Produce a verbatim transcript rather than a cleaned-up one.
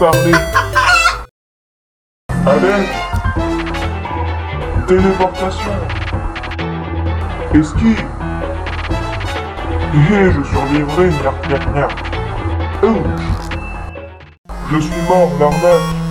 parler. Allez. Téléportation. Esquive. Hé, je survivrai, gna gna gna. Oh. Je suis mort, l'arnaque.